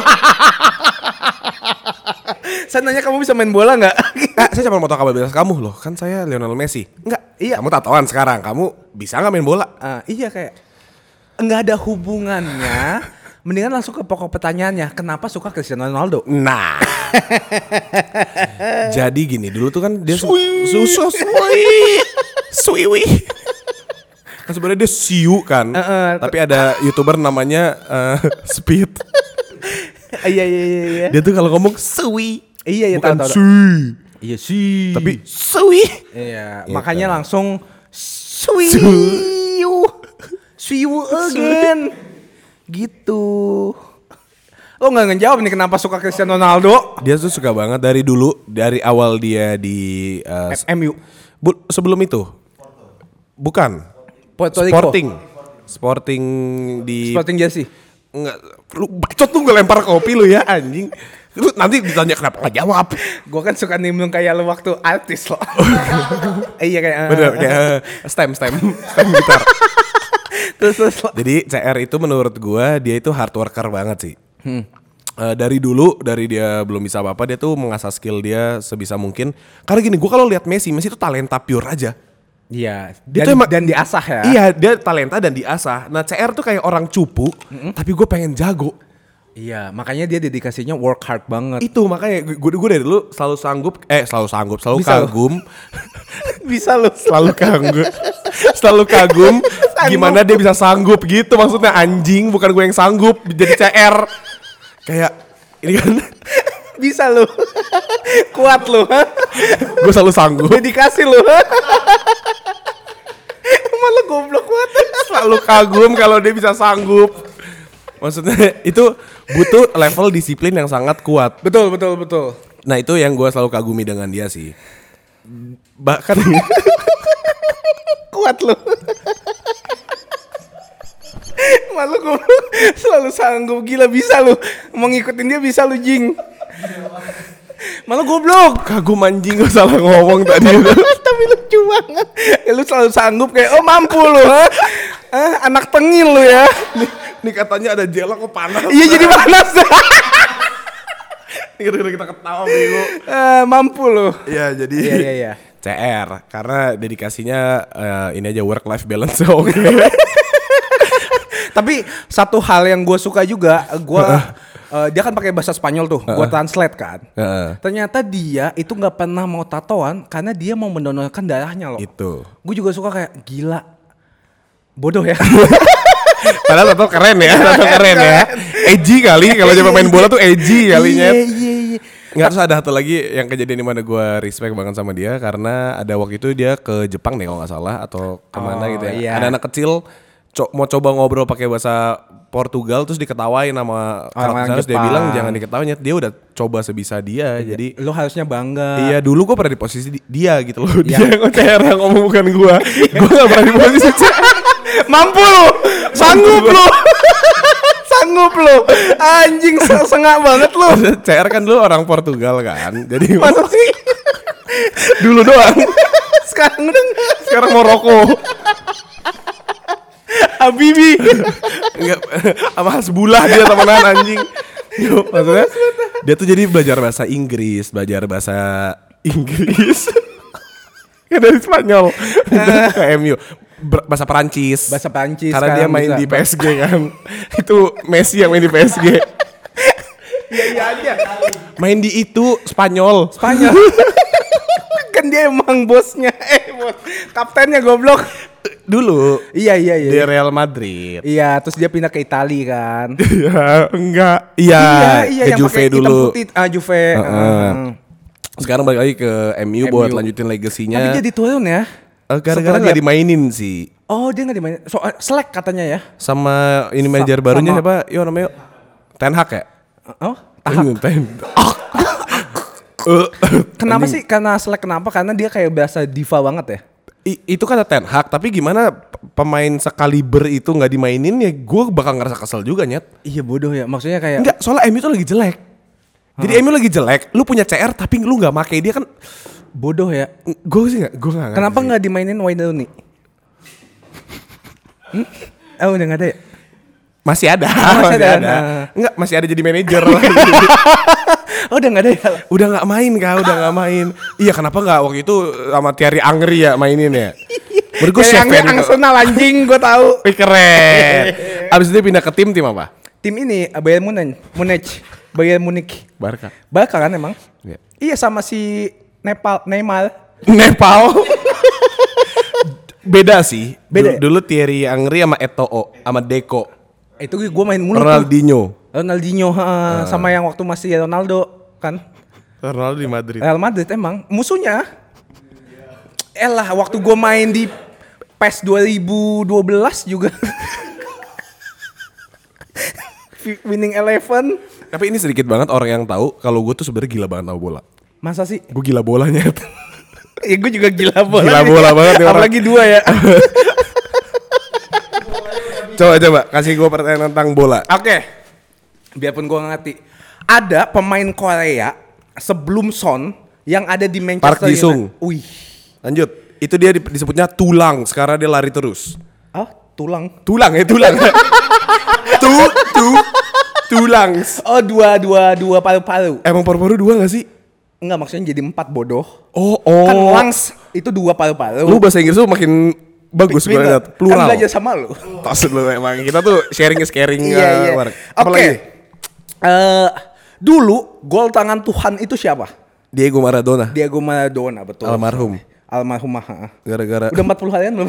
Saya nanya kamu bisa main bola nggak? Eh, saya cuma mau tahu kapabilitas kamu loh, kan saya Lionel Messi. Enggak, Iya. kamu tatoan sekarang, kamu bisa nggak main bola? Ah, iya kayak nggak ada hubungannya. Mendingan langsung ke pokok pertanyaannya. Kenapa suka Cristiano Ronaldo? Nah, jadi gini, dulu tuh kan dia su- Sweet. susu suwi, kan sebenarnya dia siu kan, Uh-uh. tapi ada youtuber namanya eh, Speed. Iya iya iya iya. Dia tuh kalau ngomong suwi, Iya iya bukan tahu tahu. sui, Iya sih. tapi suwi. iya, Gitu. makanya langsung swiu. Swiu again. Gitu. Lo nggak ngejawab nih kenapa suka Cristiano Ronaldo? Dia tuh suka banget dari dulu, dari awal dia di eh, M U. bu- sebelum itu, bukan Puerto Rico. Sporting, Sporting di Sporting jersey. Enggak, lu bacot tuh gue lempar kopi lu ya anjing. Lu nanti ditanya kenapa gak jawab. Gue kan suka nimbrung kayak lo waktu artis lo. Iya kayak. Bener, kayak eh, stem, stem, stem gitar. Terus terus. Jadi C R itu menurut gue dia itu hard worker banget sih. Eh, dari dulu, dari dia belum bisa apa-apa, dia tuh mengasah skill dia sebisa mungkin. Karena gini, gue kalau lihat Messi, Messi itu talenta pure aja. Iya. Dia Dan, tuh emang- dan diasah ya. Iya, dia talenta dan diasah. Nah C R tuh kayak orang cupu, tapi gue pengen jago. Iya, makanya dia dedikasinya work hard banget. Itu makanya gue gue dari dulu selalu sanggup, eh selalu sanggup, selalu Bisa lo. kagum. Bisa lo. Selalu kagum, selalu kagum gimana dia bisa sanggup gitu, maksudnya anjing, bukan gue yang sanggup jadi C R. Kayak ini kan Bisa lo. Kuat lo. gue selalu sanggup, Dedikasi lo. Malah goblok banget. selalu kagum kalau dia bisa sanggup. Maksudnya itu butuh level disiplin yang sangat kuat. Betul betul betul. Nah itu yang gue selalu kagumi dengan dia sih. Bahkan Kuat lo. Malu goblok. Selalu sanggup, gila bisa lo. Mau ngikutin dia bisa lo jing. Malu goblok. kagum anjing, gue salah ngomong tadi. Tapi lucu banget. Ya, lu selalu sanggup kayak oh mampu lo. Ha? Ah, anak tengil lo ya. Nih katanya ada jela kok panas. Iya jadi panas. Kita kita ketawa bego. Ah, mampu lo. Iya jadi Iya iya iya. C R karena dedikasinya eh, ini aja work life balance oke. Tapi satu hal yang gue suka juga, gue uh, dia kan pakai bahasa Spanyol tuh, gue translate kan. Heeh. Ternyata dia itu nggak pernah mau tatoan karena dia mau mendonorkan darahnya loh. Itu. Gue juga suka kayak gila, bodoh ya. Padahal tato keren ya, tato keren ya. Edgy kali kalau dia pemain bola tuh edgy kalinya. Iya iya iya. Nggak, terus ada satu lagi yang kejadian di mana gue respect banget sama dia karena ada waktu itu dia ke Jepang deh kalau nggak salah atau kemana Oh, gitu ya. iya. Ada anak kecil co- mau coba ngobrol pakai bahasa Portugal terus diketawain sama Orang-orang terus dia Jepang. bilang jangan diketawain, dia udah coba sebisa dia. Jadi Lu harusnya bangga. iya, dulu gue pernah di posisi di- dia gitu loh. Iya. Dia yang C R yang ngomong bukan gue. Gue gak pernah di posisi C R. Mampu lu. Sanggup lu. Sanggup lu. Anjing sengak banget lu. C R kan dulu orang Portugal kan. Jadi Masa sih? dulu doang. Sekarang udah enggak. Sekarang Maroko. Habibi. Enggak, sama Hasbullah dia temenan anjing. Yo, maksudnya dia tuh jadi belajar bahasa Inggris, belajar bahasa Inggris. Ya dari Spanyol ke M U. Ber- bahasa Perancis. Bahasa Perancis Karena dia sekarang main bisa. di P S G kan. Itu Messi yang main di P S G. Iya iya aja. Main di itu Spanyol. Spanyol. Kan dia emang bosnya. Eh bos. Kaptennya goblok. Dulu Iya iya iya. di Real Madrid. Iya, terus dia pindah ke Itali kan. Iya, enggak. Iya, ke yang Juve pakai hitam dulu. putih. Ah, Juve. Heeh. Heeh. Sekarang balik lagi ke M U buat M U. lanjutin legasinya. Tapi jadi turun ya. Eh, gara-gara Sebenarnya- gak dimainin sih. Oh, dia enggak dimainin. So, eh, selek katanya ya. Sama ini manajer Sa- barunya sama- siapa? Yo namanya Ten Hag ya? Oh, tahap. Ten. Kenapa sih? Karena selek kenapa? Karena dia kayak berasa diva banget ya. I- itu kata Ten Hag, tapi gimana p- pemain sekaliber itu nggak dimainin ya gue bakal ngerasa kesel juga nyet. Iya bodoh ya. Maksudnya kayak Enggak, soalnya M U tuh lagi jelek. Jadi M U lagi jelek, lu punya C R tapi lu nggak make dia kan. bodoh ya. Gue sih nggak, gue nggak. Kenapa nggak dimainin Wayne Rooney? Hmm? Oh, udah nggak ada ya? Masih ada, masih masih, ada. ada. Nah. Enggak, masih ada jadi manajer. Oh, udah nggak ada ya? Udah nggak main kak, udah nggak main. Iya, kenapa nggak waktu itu sama Thierry Angri ya mainin ya? Menurut gue Kayak chef yang fan. Arsenal anjing, gue tahu. Wih, keren. Abis itu dia pindah ke tim tim apa? Tim ini Bayern Munich, Munich, Bayern Munich. Barca. Barca kan emang? Iya. Iya sama si Nepal, Neymar. Nepal. Beda sih. Beda Dulu, ya? dulu Thierry Angri sama Eto'o sama Deco. Itu gue main mulu tuh. Ronaldinho. Ronaldinho, ha, sama yang waktu masih Ronaldo kan. Ronaldo di Madrid. Real Madrid emang musuhnya. Elah waktu gue main di P E S dua ribu dua belas juga. Winning Eleven. Tapi ini sedikit banget orang yang tahu kalau gue tuh sebenarnya gila banget tahu bola. Masa sih? Gue gila bolanya. Ya gue juga gila bola. Gila nih. bola banget nih orang. Apalagi dua ya. Coba coba kasih gue pertanyaan tentang bola. Oke. Biarpun gue gak ngerti. Ada pemain Korea sebelum Son yang ada di Manchester Park Ji-sung. United. Wih. Lanjut. Itu dia di- disebutnya tulang. Sekarang dia lari terus. Ah, tulang. Tulang ya tulang. tu tu tulang. Oh, dua dua dua paru-paru. Emang paru-paru dua gak sih? Enggak, maksudnya jadi empat bodoh. Oh oh. Kan lungs itu dua paru-paru. Lu bahasa Inggris lu makin bagus gue Pinter. liat. Plural. Kan belajar sama lu. Maksud lu emang kita tuh sharing is caring. Iya, iya. Mark. Oke. Apalagi? Eh, dulu gol tangan Tuhan itu siapa? Diego Maradona. Diego Maradona, betul. Almarhum. Almarhumah. ha. Gara-gara Udah empat puluh harian belum?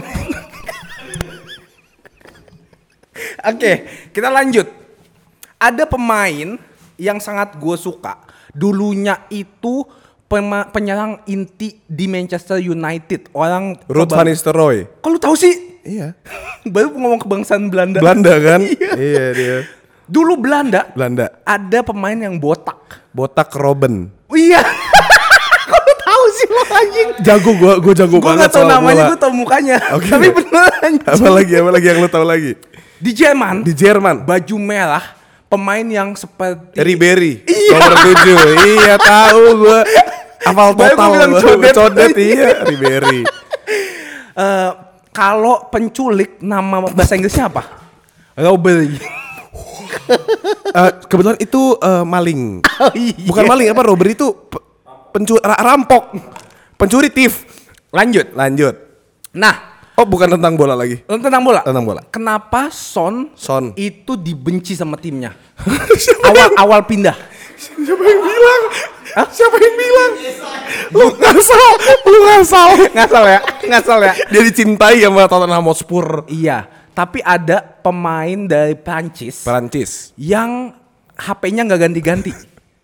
Oke, kita lanjut. Ada pemain yang sangat gue suka. Dulunya itu pema- penyerang inti di Manchester United. Orang Ruud van Nistelrooy. Kok lu tahu sih? Iya. Baru ngomong kebangsaan Belanda. Belanda kan? Iya. Iya dia. Dulu Belanda Belanda. ada pemain yang botak. Botak Robben. Oh, iya. Kok lu tahu sih lo anjing? Jago gua, gua jago Gue banget gak tau soal namanya, bola. gue tau mukanya. Oke. Tapi beneran anjing. Apa lagi? Apa lagi yang lu tahu lagi? Di Jerman, Di Jerman. baju merah, pemain yang seperti Ribery. Iya. Nomor tujuh. Iya, tahu gua. Hafal Baru gua total. bilang gua. codet. Codet iya, Ribery. Eh, kalau penculik nama bahasa Inggrisnya apa? Robbery. Eh, kebetulan itu eh, maling. Oh, iya. Bukan maling apa robbery itu pe- pencuri rampok. Pencuri thief. Lanjut. Lanjut. Nah, Oh, bukan tentang bola lagi. tentang bola. Tentang bola. Kenapa Son, Son. itu dibenci sama timnya? awal awal pindah. Siapa yang bilang? Siapa yang bilang? Lu ngasal, lu ngasal. Ngasal ya, ngasal ya. Dia dicintai sama Tottenham Hotspur. Iya, tapi ada pemain dari Prancis Perancis. yang H P-nya nggak ganti-ganti.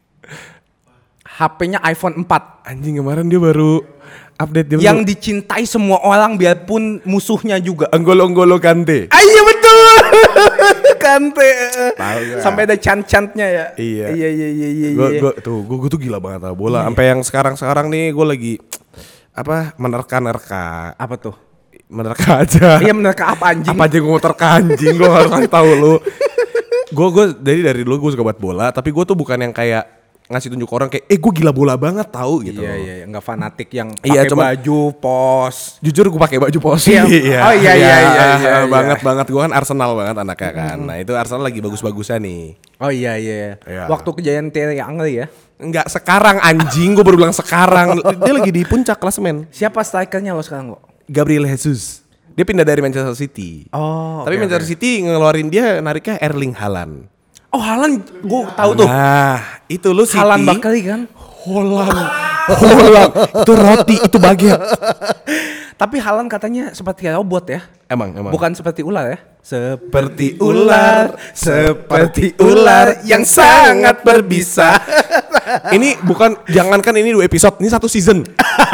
H P-nya iPhone empat. Anjing kemarin dia baru update dia. Yang dicintai semua orang biarpun musuhnya juga. Anggolo-anggolo Kante. Ah, iya betul. Kante. Tahu gak? Sampai ada cant-cantnya ya. Iya. Iya iya iya iya. Gue iya. gue tuh gue gue tuh gila banget sama bola. Sampai yang sekarang-sekarang nih gue lagi apa menerka-nerka. Apa tuh? Menerka aja. Iya menerka apa anjing? Apa aja gue mau terka anjing, gue harus kasih tahu lu. Gue gue dari dari dulu gue suka buat bola, tapi gue tuh bukan yang kayak ngasih tunjuk orang kayak eh gue gila bola banget tahu gitu. Iya iya, nggak fanatik yang Iya, pakai cuman- baju pos. Jujur gue pakai baju posi. Iya. Oh, iya, iya, iya, iya, banget iya. banget gue kan Arsenal banget anaknya kan. Nah itu Arsenal lagi bagus-bagusnya nih. Oh iya iya. Iya. Waktu kejadian Thierry Henry ya. Enggak sekarang anjing, gue baru bilang sekarang. Dia lagi di puncak klasemen. Siapa strikernya lo sekarang lo? Gabriel Jesus. Dia pindah dari Manchester City. Oh. Tapi oke, Manchester oke. City ngeluarin dia nariknya Erling Haaland. Oh Haaland, gue tahu tuh. Nah, itu lu City. Haaland Bakali kan. Holland. Holland. Itu roti, itu baget. Tapi Haaland katanya seperti robot ya. Emang, emang. Bukan seperti ular ya. Seperti ular, seperti ular yang sangat berbisa. Ini bukan, jangankan ini dua episode, ini satu season.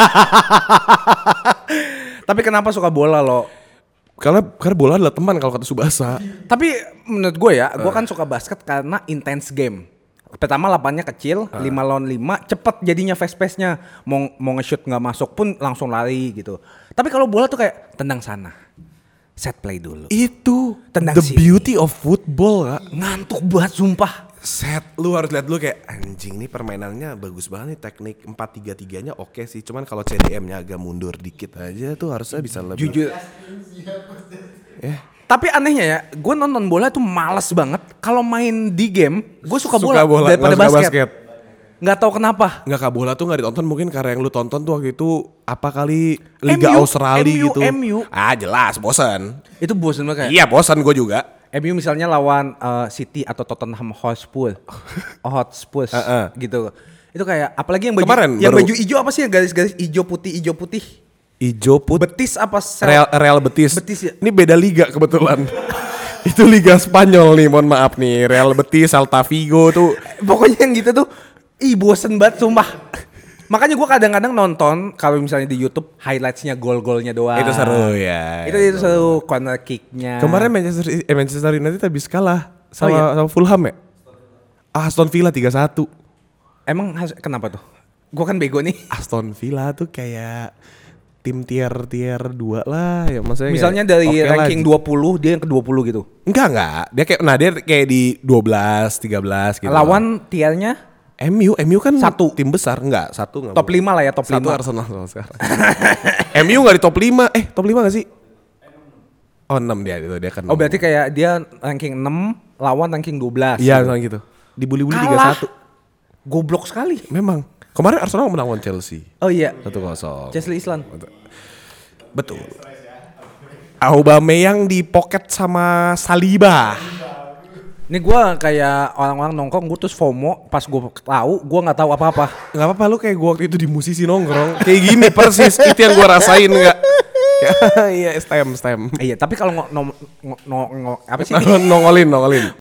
Tapi kenapa suka bola lo? Karena karena bola adalah teman kalau kata Subasa. Tapi menurut gue ya, gue kan suka basket karena intense game. Pertama lapannya kecil, lima lawan lima, cepet jadinya fast pace-nya. Mau mau nge-shoot nggak masuk pun langsung lari gitu. Tapi kalau bola tuh kayak tendang sana. Set play dulu. Itu Tendang the sini. beauty of football, Kak. Ngantuk banget sumpah. Set, lu harus lihat dulu kayak anjing nih permainannya bagus banget nih, teknik empat tiga tiganya oke sih, cuman kalau C D M-nya agak mundur dikit aja tuh harusnya bisa lebih. Jujur. Eh, Tapi anehnya ya, gue nonton bola tuh males banget. Kalau main di game, gue suka, Suka bola, bola, daripada nggak suka basket. basket. Nggak tahu kenapa. nggak Kak, bola tuh nggak ditonton mungkin karena yang lu tonton tuh waktu itu apa kali Liga M U, Australia M U, gitu. M U. Ah jelas bosan. Itu bosen banget kayak. Iya bosan gue juga. M U misalnya lawan uh, City atau Tottenham Hotspur, Hotspur Uh-uh. gitu. Itu kayak apalagi yang baju Kemarin yang baru- baju hijau apa sih yang garis-garis hijau putih hijau putih? Ijo put Betis apa sel? Real, Real Betis. Betis ya? Ini beda liga kebetulan. Itu Liga Spanyol nih, mohon maaf nih. Real Betis, Celta Vigo tuh. Pokoknya yang gitu tuh, ih bosen banget sumpah. Makanya gue kadang-kadang nonton kalau misalnya di YouTube highlightsnya gol-golnya doang. Itu seru ya. Itu itu seru corner kicknya. Kemarin Manchester eh, Manchester United habis kalah sama, Oh, iya? sama Fulham ya. Aston Villa tiga satu. Emang has- kenapa tuh? Gue kan bego nih. Aston Villa tuh kayak tim tier tier dua lah ya maksudnya. Misalnya kayak dari oke lah. ranking dua puluh dia yang ke dua puluh gitu. Enggak enggak. Dia kayak nah dia kayak di dua belas, tiga belas gitu. Lawan tiernya M U, M U kan Satu. tim besar enggak, satu enggak. top lima lah ya, top Satu lima. Arsenal sama sekarang. M U enggak di top lima. Eh, top lima enggak sih? Oh, enam dia itu dia kan. Oh berarti kayak dia ranking enam lawan ranking dua belas. iya misalnya gitu. Dibully-bully tiga Kalah. satu. Goblok sekali. Memang. Kemarin Arsenal menang lawan Chelsea. Oh iya. satu kosong. Chesley Islan. Betul. Aubameyang di pocket sama Saliba. Ini gue kayak orang-orang nongkrong gue terus FOMO pas gue tahu gue nggak tahu apa-apa. Gak apa-apa lu kayak gua waktu itu di musisi nongkrong. Kayak gini persis itu yang gua rasain enggak? Iya, stem stem. Iya tapi kalau ngo- no, ngo- no- ngo- apa sih? nongolin nongolin.